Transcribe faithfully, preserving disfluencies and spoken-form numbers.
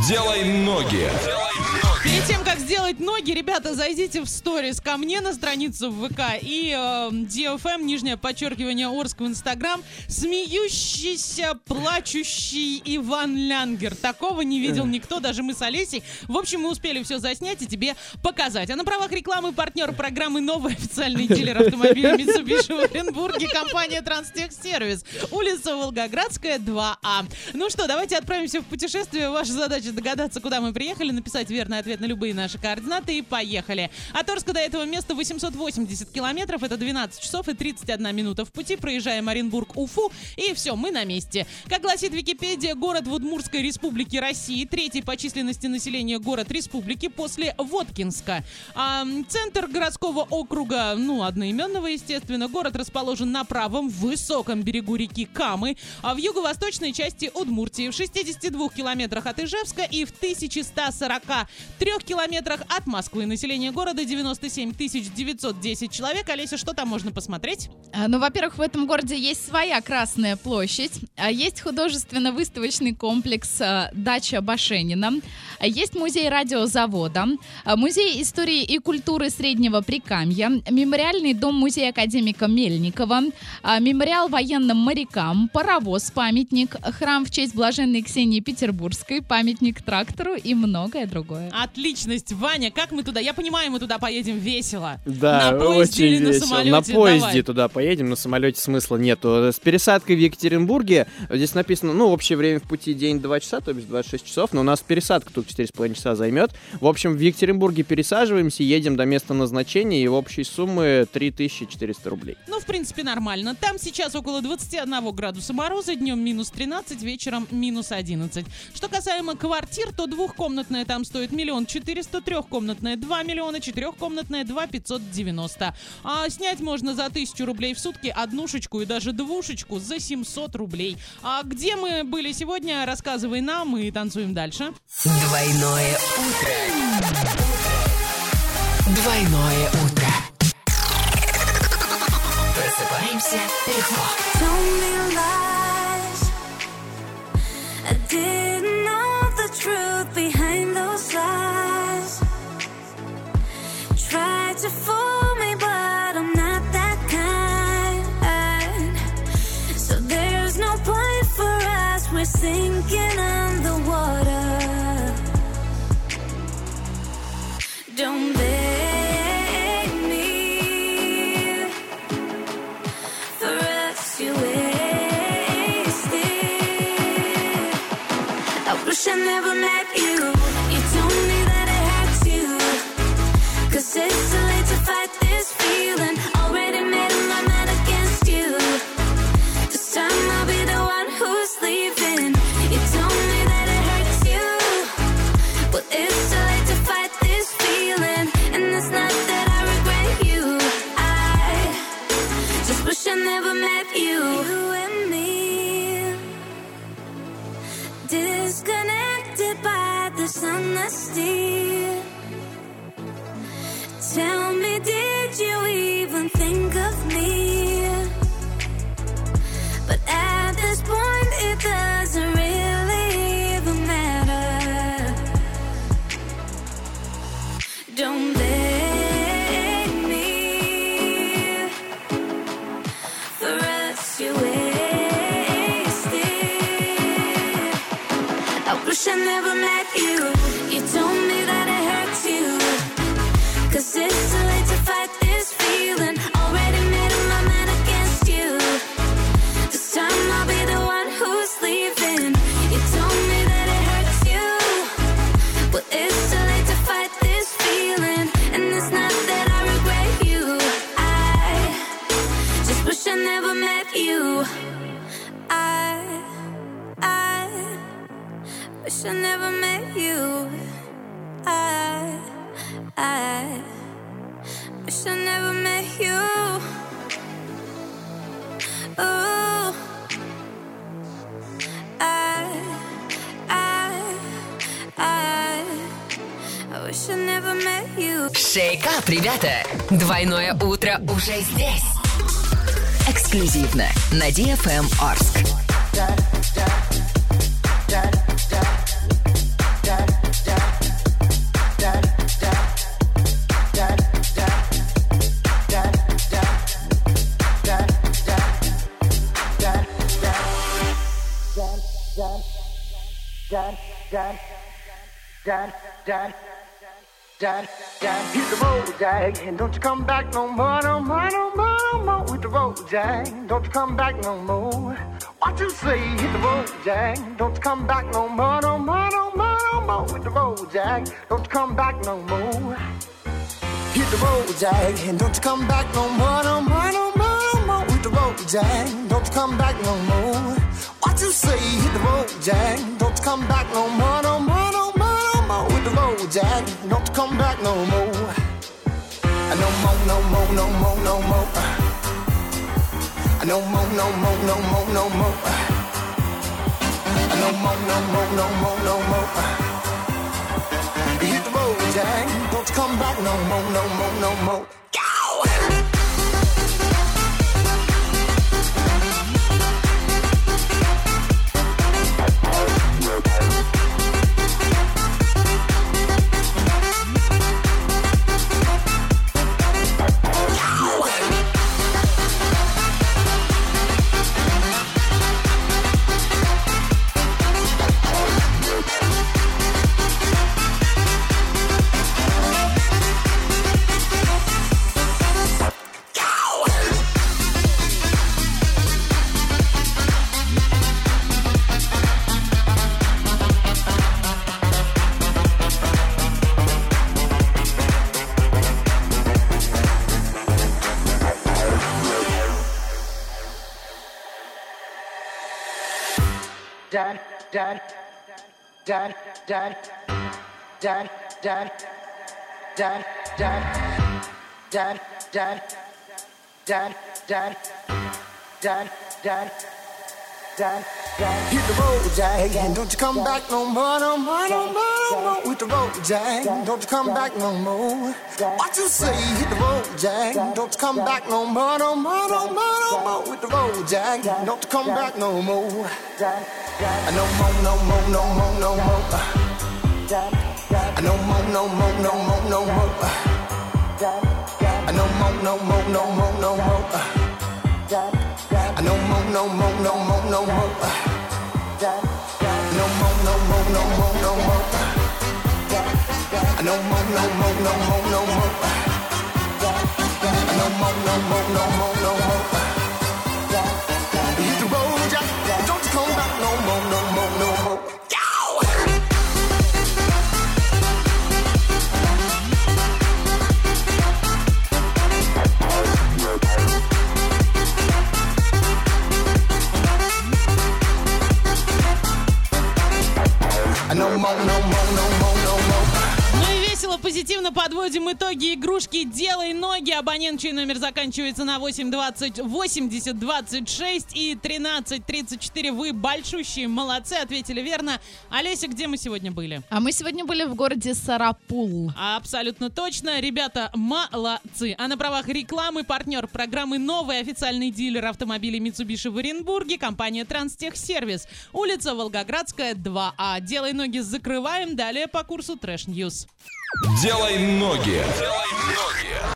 Делай ноги. Перед тем, как сделать ноги, ребята, зайдите в сторис ко мне на страницу в ВК и э, ди эф эм, нижнее подчеркивание, Орск в Инстаграм. Смеющийся, плачущий Иван Лянгер. Такого не видел никто, даже мы с Олесей. В общем, мы успели все заснять и тебе показать. А на правах рекламы партнер программы «Новый официальный дилер автомобилей Mitsubishi в Оренбурге» компания «Транстехсервис». Улица Волгоградская, два А. Ну что, давайте отправимся в путешествие. Ваша задача догадаться, куда мы приехали, написать верный ответ на любые наши координаты и поехали. От Орска до этого места восемьсот восемьдесят километров, это двенадцать часов и тридцать одна минута в пути. Проезжаем Оренбург, Уфу, и все, мы на месте. Как гласит Википедия, город в Удмуртской республике России, третий по численности населения город республики после Воткинска. А, центр городского округа, ну, одноименного, естественно. Город расположен на правом, высоком берегу реки Камы, а в юго-восточной части Удмуртии, в шестидесяти двух километрах от Ижевска и в тысяча сто сорока трёх километрах от Москвы. Население города девяносто семь тысяч девятьсот десять человек. Олеся, что там можно посмотреть? А, ну, во-первых, в этом городе есть своя Красная площадь, а есть художественно-выставочный комплекс а, «Дача Башенина», а есть музей радиозавода, а, музей истории и культуры Среднего Прикамья, мемориальный дом-музей академика Мельникова, а, мемориал военным морякам, паровоз-памятник, храм в честь блаженной Ксении Петербургской, памятник трактору и многое другое. Отличность, Ваня, как мы туда? Я понимаю, мы туда поедем весело. Да, на поезде очень или на весело. самолете? На поезде Давай. туда поедем, на самолете смысла нету. С пересадкой в Екатеринбурге, здесь написано, ну, общее время в пути день два часа, то есть двадцать шесть часов, но у нас пересадка только четыре с половиной часа займет. В общем, в Екатеринбурге пересаживаемся, едем до места назначения, и в общей суммы три тысячи четыреста рублей. Ну, в принципе, нормально. Там сейчас около двадцать один градуса мороза, днем минус тринадцать, вечером минус одиннадцать. Что касаемо квартир, то двухкомнатная там стоит миллион четыреста, трехкомнатная два миллиона, четырехкомнатная два пятьсот девяносто. А снять можно за тысячу рублей в сутки однушечку и даже двушечку за семьсот рублей. А где мы были сегодня, рассказывай нам, и танцуем дальше. Двойное утро. Двойное утро. Просыпаемся легко. To fool me, but I'm not that kind. So there's no point for us, we're sinking underwater. Don't beg me for us, you wasted. I wish I never met you. You told me that it hurts you, 'cause it's too late to fight this feeling. Already made up my mind against you. This time I'll be the one who's leaving. You told me that it hurts you, but it's too late to fight this feeling. And it's not that I regret you, I just wish I never met you. You and me, disconnected by this honesty. Tell me, did you even think of me? But at this point, it doesn't really even matter. Don't beg me for us, you wasted. I wish I never met you. You told me that it hurts you, 'cause it's too late to fight this feeling. Already made up my mind against you. This time I'll be the one who's leaving. You told me that it hurts you, but it's too late to fight this feeling. And it's not that I regret you, I just wish I never met you. I, I wish I never met you. I I wish I never met you. Ooh, I, I, I, I wish I never met you. Шейкап, ребята! Двойное утро уже здесь. Эксклюзивно на ди эф эм Орск. Dad, Dad, Dad, Dad, Dad, Dad, hit the road, Jack, and don't you come back no more, no more, no more, no more. Hit the road, Jack, don't you come back no more. What you say? Hit the road, Jack, don't you come back no more, no more, no more, no more. Hit the road, Jack, don't you come back no more. Hit the road, Jack, and don't you come back no more, no more, no more, no more. Hit the road, Jack, don't you come back no more. What you say? Hit the road, Jack, don't you come back no more, no more, no more, no more. Hit the road, Jack, don't you come back no more. No more, no more, no more, no more. No more, no more, no more, no more. No more, no more, no more, no more. Hit the road, Jack, don't you come back no more, no more, no more. Go! Dad, dad, dad, dad, dad, dad, dad, dad, dad, dad, dad, dad, dad, dad, dad, dad. Hit the road, Jack, and don't you come back no more, no more, no more, no more. Hit the road, Jack, don't you come back no more. What you say? Hit the road, Jack, don't you come back no more, no more, no more, no more. Hit the road, Jack, don't you come back no more. No more, no more, no more, no more. No more, no more, no more, no more. No more, no more, no more, no more. No more, no more, no more, no more. No more, no more, no more, no more. No more, no more, no more, no more. No more, no more, no more, no more. Hit the road, Jack, don't you come back no more, no more, no more. No more, no more, no more, no more. Ну и весело, позитивно подводим итоги игрушки «Делай ноги». Абонент, чей номер заканчивается на восемь двадцать восемьдесят двадцать шесть и тринадцать тридцать четыре. Вы большущие молодцы, ответили верно. Олеся, где мы сегодня были? А мы сегодня были в городе Сарапул. Абсолютно точно. Ребята, молодцы. А на правах рекламы партнер программы «Новый официальный дилер автомобилей Mitsubishi в Оренбурге» компания «Транстехсервис». Улица Волгоградская, два А. «Делай ноги» закрываем. Далее по курсу Трэш Ньюс. Делай ноги. Делай ноги.